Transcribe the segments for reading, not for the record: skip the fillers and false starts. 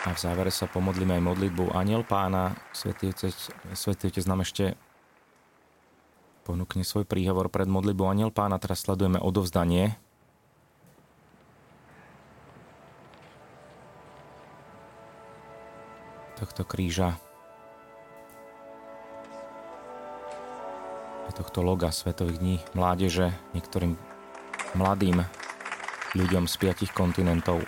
A v závere sa pomodlíme aj modlitbu Anjel Pána. Svätý Otec nám ešte ponúkne svoj príhovor pred modlitbou Anjel Pána. Teraz sledujeme odovzdanie. Tohto kríža a tohto loga Svetových dní mládeže niektorým mladým ľuďom z 5 kontinentov.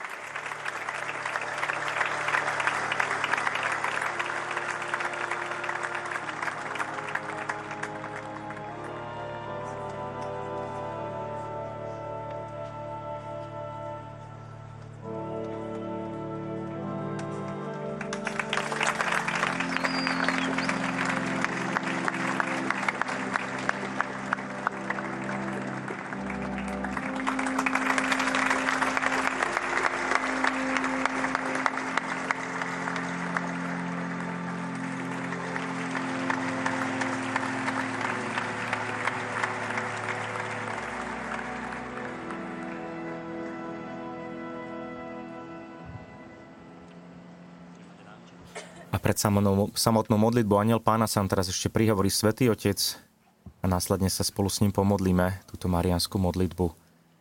A pred samotnou modlitbou Anjel Pána sa nám teraz ešte prihovorí Svätý Otec a následne sa spolu s ním pomodlíme túto mariánsku modlitbu.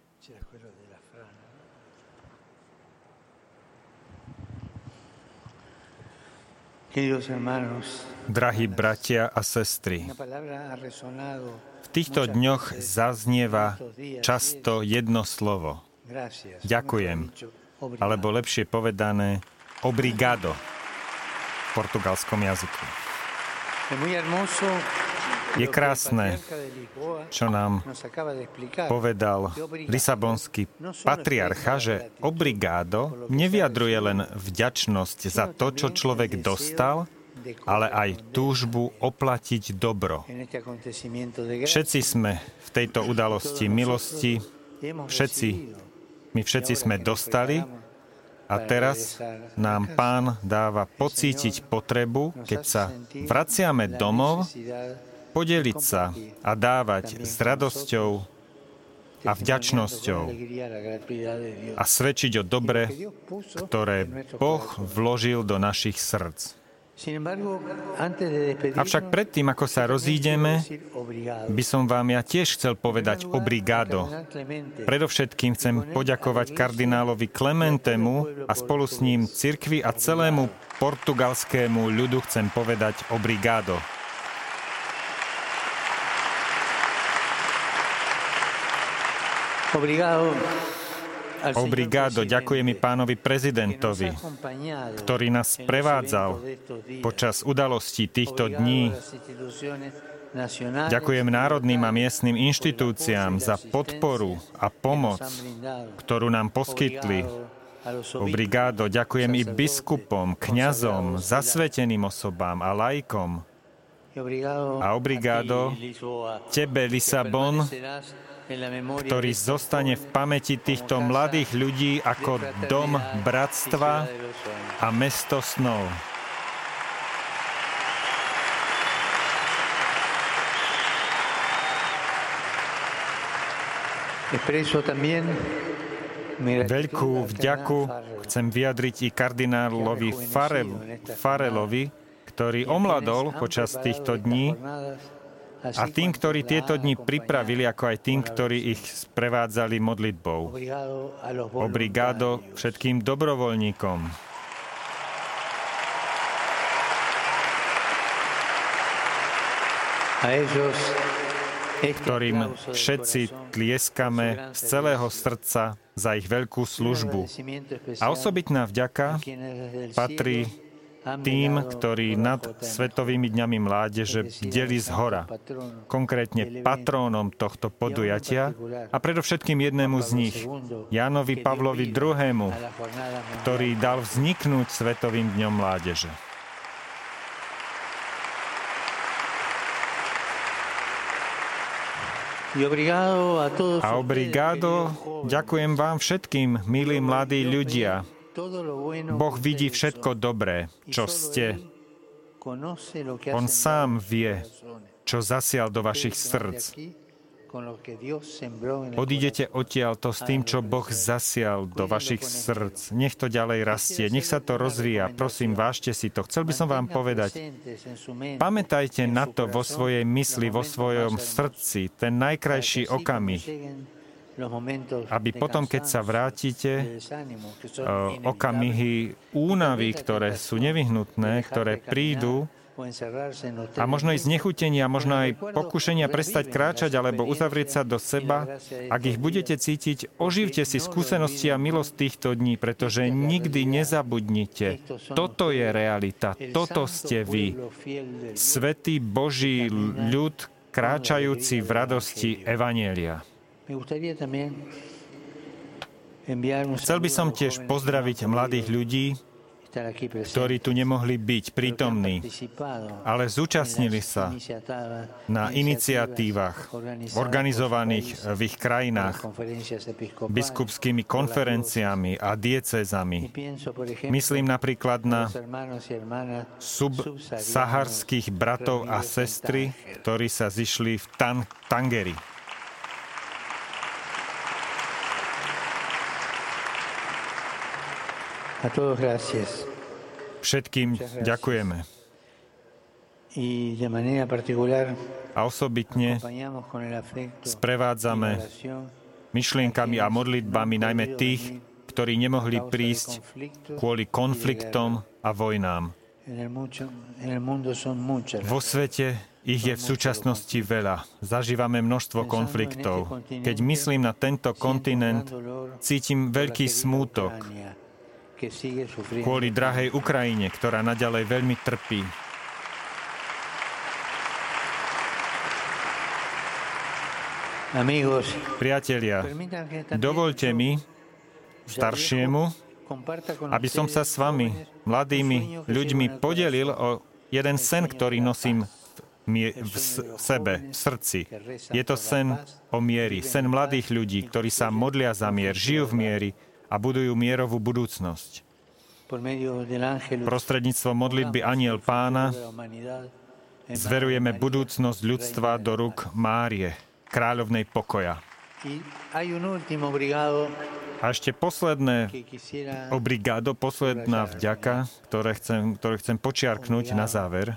Drahí bratia a sestry, v týchto dňoch zaznieva často jedno slovo. Ďakujem, alebo lepšie povedané, obrigado v portugalskom jazyku. Je krásne, čo nám povedal lisabonský patriarcha, že obrigado nevyjadruje len vďačnosť za to, čo človek dostal, ale aj túžbu oplatiť dobro. Všetci sme v tejto udalosti milosti, my všetci sme dostali a teraz nám Pán dáva pocítiť potrebu, keď sa vraciame domov, podeliť sa a dávať s radosťou a vďačnosťou a svedčiť o dobre, ktoré Boh vložil do našich srdc. Avšak predtým, ako sa rozídeme, by som vám ja tiež chcel povedať obrigado. Predovšetkým chcem poďakovať kardinálovi Clementemu a spolu s ním cirkvi a celému portugalskému ľudu chcem povedať obrigado. Obrigado, ďakujem i pánovi prezidentovi, ktorý nás prevádzal počas udalostí týchto dní. Ďakujem národným a miestnym inštitúciám za podporu a pomoc, ktorú nám poskytli. Obrigado, ďakujem i biskupom, kňazom, zasveteným osobám a laikom. A obrigado tebe, Lisabon, ktorý zostane v pamäti týchto mladých ľudí ako dom bratstva a mesto snov. Veľkú vďaku chcem vyjadriť i kardinálovi Farelovi, ktorý omladol počas týchto dní, a tým, ktorí tieto dni pripravili, ako aj tým, ktorí ich sprevádzali modlitbou. Obrigado všetkým dobrovoľníkom. Ktorým všetci tlieskame z celého srdca za ich veľkú službu. A osobitná vďaka patrí tým, ktorí nad Svetovými dňami mládeže bdeli zhora, konkrétne patrónom tohto podujatia a predovšetkým jednému z nich, Jánovi Pavlovi II., ktorý dal vzniknúť Svetovým dňom mládeže. A obrigado, ďakujem vám všetkým, milí mladí ľudia. Boh vidí všetko dobré, čo ste. On sám vie, čo zasial do vašich srdc. Odídete odtiaľto s tým, čo Boh zasial do vašich srdc. Nech to ďalej rastie, nech sa to rozvíja. Prosím, vážte si to. Chcel by som vám povedať, pamätajte na to vo svojej mysli, vo svojom srdci, ten najkrajší okamih, aby potom, keď sa vrátite, okamihy únavy, ktoré sú nevyhnutné, ktoré prídu, a možno aj znechutenia, možno aj pokušenia prestať kráčať alebo uzavrieť sa do seba. Ak ich budete cítiť, oživte si skúsenosti a milosť týchto dní, pretože nikdy nezabudnite. Toto je realita, toto ste vy. Svätý Boží ľud, kráčajúci v radosti Evanjelia. Chcel by som tiež pozdraviť mladých ľudí, ktorí tu nemohli byť prítomní, ale zúčastnili sa na iniciatívach organizovaných v ich krajinách biskupskými konferenciami a diecézami. Myslím napríklad na subsaharských bratov a sestry, ktorí sa zišli v Tangeri. Všetkým ďakujeme. A osobitne sprevádzame myšlienkami a modlitbami najmä tých, ktorí nemohli prísť kvôli konfliktom a vojnám. Vo svete ich je v súčasnosti veľa. Zažívame množstvo konfliktov. Keď myslím na tento kontinent, cítim veľký smútok kvôli drahej Ukrajine, ktorá naďalej veľmi trpí. Priatelia, dovoľte mi, staršiemu, aby som sa s vami, mladými ľuďmi, podelil o jeden sen, ktorý nosím v sebe, v srdci. Je to sen o mieri, sen mladých ľudí, ktorí sa modlia za mier, žijú v mieri a budujú mierovú budúcnosť. Prostredníctvom modlitby Anjel Pána zverujeme budúcnosť ľudstva do rúk Márie, kráľovnej pokoja. A ešte posledné obrigado, posledná vďaka, ktoré chcem počiarknúť na záver.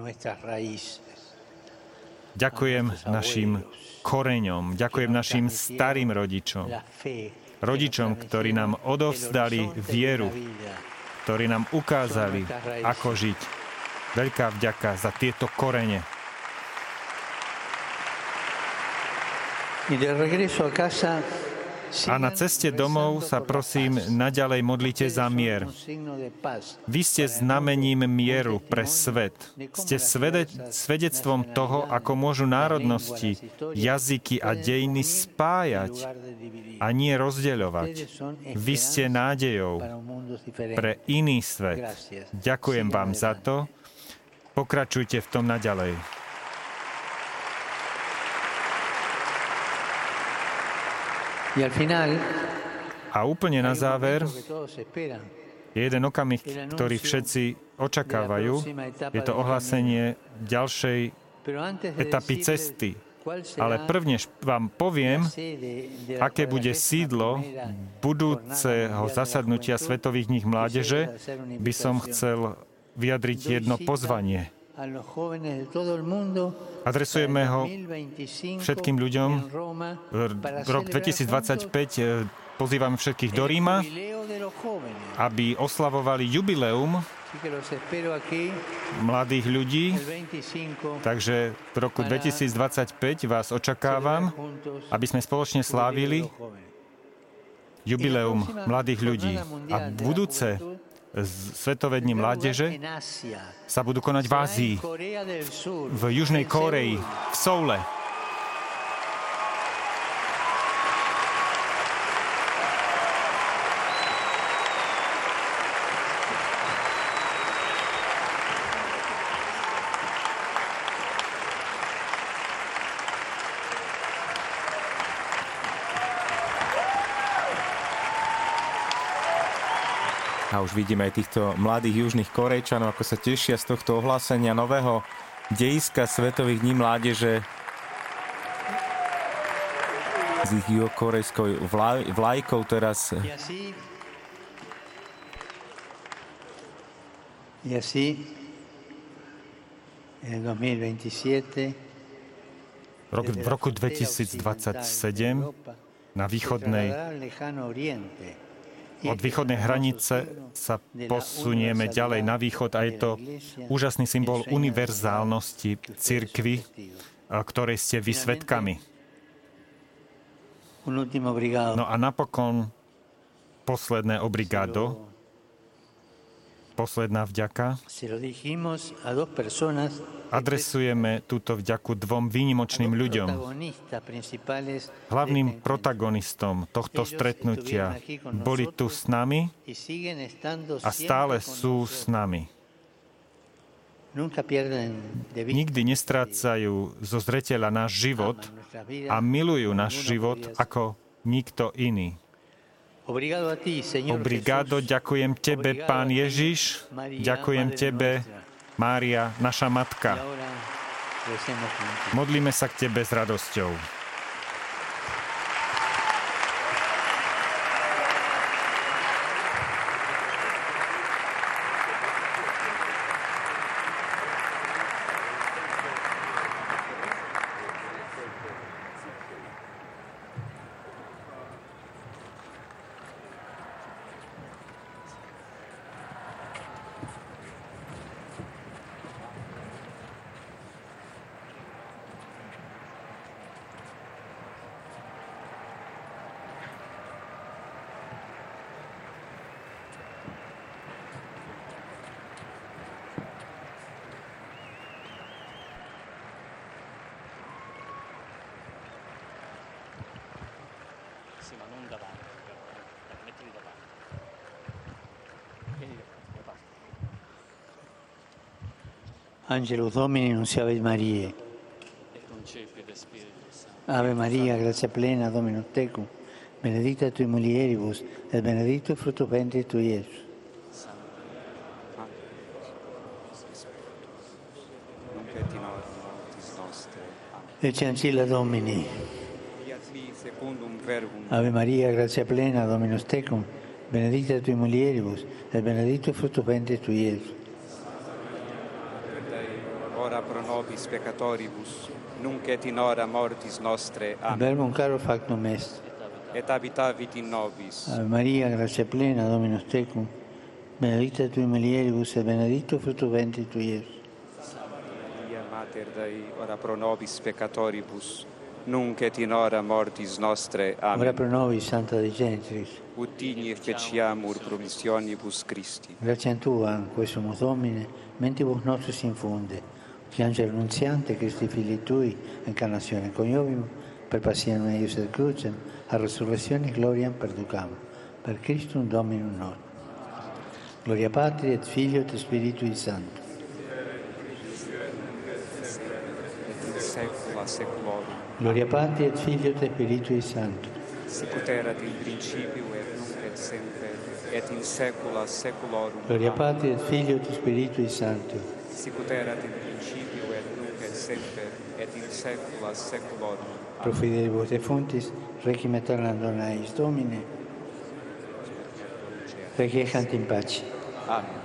Ďakujem našim koreňom, ďakujem našim starým rodičom, ktorí nám odovzdali vieru, ktorí nám ukázali, ako žiť. Veľká vďaka za tieto korene. A na ceste domov sa prosím naďalej modlite za mier. Vy ste znamením mieru pre svet. Ste svedectvom toho, ako môžu národnosti, jazyky a dejiny spájať a nie rozdeľovať. Vy ste nádejou pre iný svet. Ďakujem vám za to. Pokračujte v tom naďalej. A úplne na záver je jeden okamih, ktorý všetci očakávajú. Je to ohlásenie ďalšej etapy cesty. Ale prvne vám poviem, aké bude sídlo budúceho zasadnutia Svetových dní mládeže, by som chcel vyjadriť jedno pozvanie. Adresujeme ho všetkým ľuďom. Rok 2025 pozývame všetkých do Ríma, aby oslavovali jubileum mladých ľudí. Takže v roku 2025 vás očakávam, aby sme spoločne slávili jubileum mladých ľudí. A budúce Svetové dni mládeže sa budú konať v Ázii, v Južnej Kóreji, v Soule. A už vidíme aj týchto mladých južných Korejčanov, ako sa tešia z tohto ohlásenia nového dejiska Svetových dní mládeže. s ich juhokorejskou vlajkou teraz. Y así, en el 2027, v roku 2027 od východnej hranice sa posunieme ďalej na východ a je to úžasný symbol univerzálnosti cirkvi, ktorej ste vy svedkami. No a napokon posledné obrigado, posledná vďaka. Adresujeme túto vďaku dvom výnimočným ľuďom. Hlavným protagonistom tohto stretnutia boli tu s nami a stále sú s nami. Nikdy nestrácajú zo zreteľa náš život a milujú náš život ako nikto iný. Obrigado, ďakujem Tebe, Pán Ježiš, ďakujem Tebe, Mária, naša Matka. Modlíme sa k Tebe s radosťou. Angelus Domini, nunciavit Mariae. Ave Maria, grazia plena, Dominus tecum, benedicta tui mulieribus, et benedictus fructus ventris tui, Iesus. Ecce ancilla Domini. Ave Maria, grazia plena, Dominus tecum, benedicta tui mulieribus, et benedictus fructus ventris tui, Iesus. Ora pro nobis peccatoribus, nunc et in hora mortis nostre. Amen. Verbum caro factum est. Et habitavit in nobis. Ave Maria, grazia plena, Dominus tecum, benedicta tui mulieribus, et benedictus fructus ventris tui, Iesus. Maria, Mater Dei, ora pro nobis peccatoribus, nunc et in hora mortis nostre. Amen. Ora pro nobis, Santa Dei Gentris, ut digni feciamur promissionibus Christi. gratia Tua, quae sumus Domine, mentibus nostris infunde, che angelo annunziante, Christi Filii Tui, incarnazione coniovium, per passione eius et crucem, a resurrezione gloriam perducam, per Christum Dominum nostrum. Gloria Patri et Filio et Spiritui Sancto. Et in saecula saeculorum. Gloria Patri et Filio et Spiritui Sancto. Sicut erat in principio et nunc et semper, et in saecula saeculorum. Gloria Patri et Filio et Spiritui Sancto. Sicut erat in principio et nunc et semper, et in saecula saeculorum. Pro fidelibus defuntis, requiem aeternam dona eis Domine, requiescant in pace. Amen.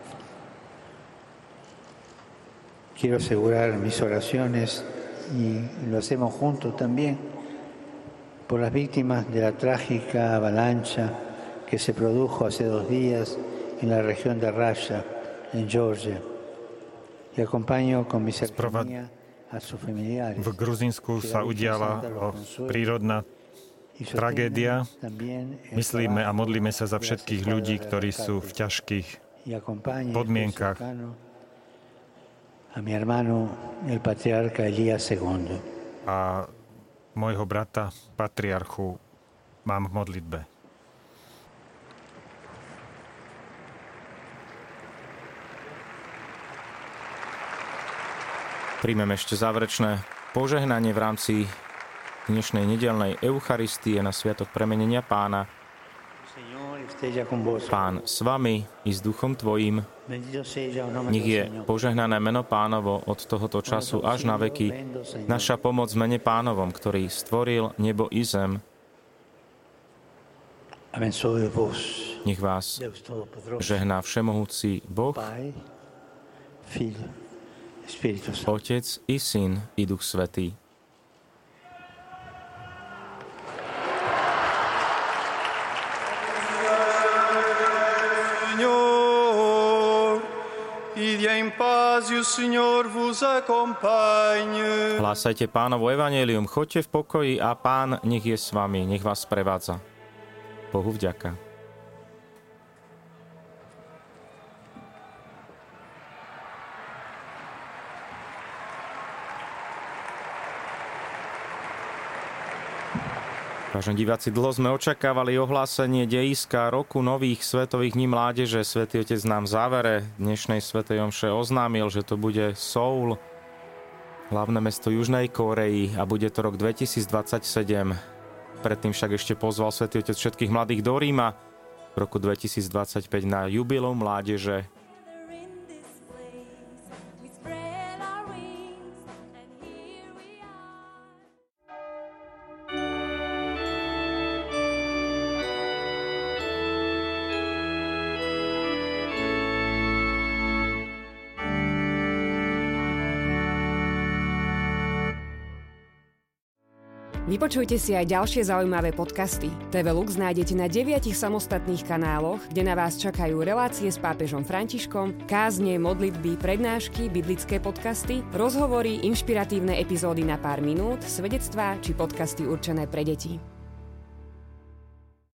Quiero asegurar mis oraciones, y lo hacemos juntos también, por las víctimas de la trágica avalancha que se produjo hace 2 días en la región de Rasha, en Georgia. Y acompaño con mi cercanía a sus familiares. V Gruzínsku sa udiala prírodná tragédia. Myslíme a modlíme sa za všetkých ľudí, ktorí sú v ťažkých podmienkach. A mi hermano, el patriarca Elías II. A môjho brata, patriarchu, mám v modlitbe. Príjmeme ešte záverečné požehnanie v rámci dnešnej nedeľnej Eucharistie na Sviatok premenenia Pána. Pán s vami i s duchom tvojim. Nech je požehnané meno Pánovo od tohoto času až na veky. Naša pomoc v mene Pánovom, ktorý stvoril nebo i zem. Nech vás žehná všemohúci Boh, Otec i Syn i Duch Svätý. Hlásajte Pánovo evanjelium, choďte v pokoji a Pán nech je s vami, nech vás sprevádza. Bohu vďaka. Vážení diváci, dlho sme očakávali ohlásenie dejiska roku nových svetových dní mládeže. Svätý Otec nám v závere dnešnej svätej omše oznámil, že to bude Soul, hlavné mesto Južnej Kórey, a bude to rok 2027. Predtým však ešte pozval Svätý Otec všetkých mladých do Ríma v roku 2025 na jubileum mládeže. Vypočujte si aj ďalšie zaujímavé podcasty. TV Lux nájdete na 9 samostatných kanáloch, kde na vás čakajú relácie s pápežom Františkom, kázne, modlitby, prednášky, biblické podcasty, rozhovory, inšpiratívne epizódy na pár minút, svedectvá či podcasty určené pre deti.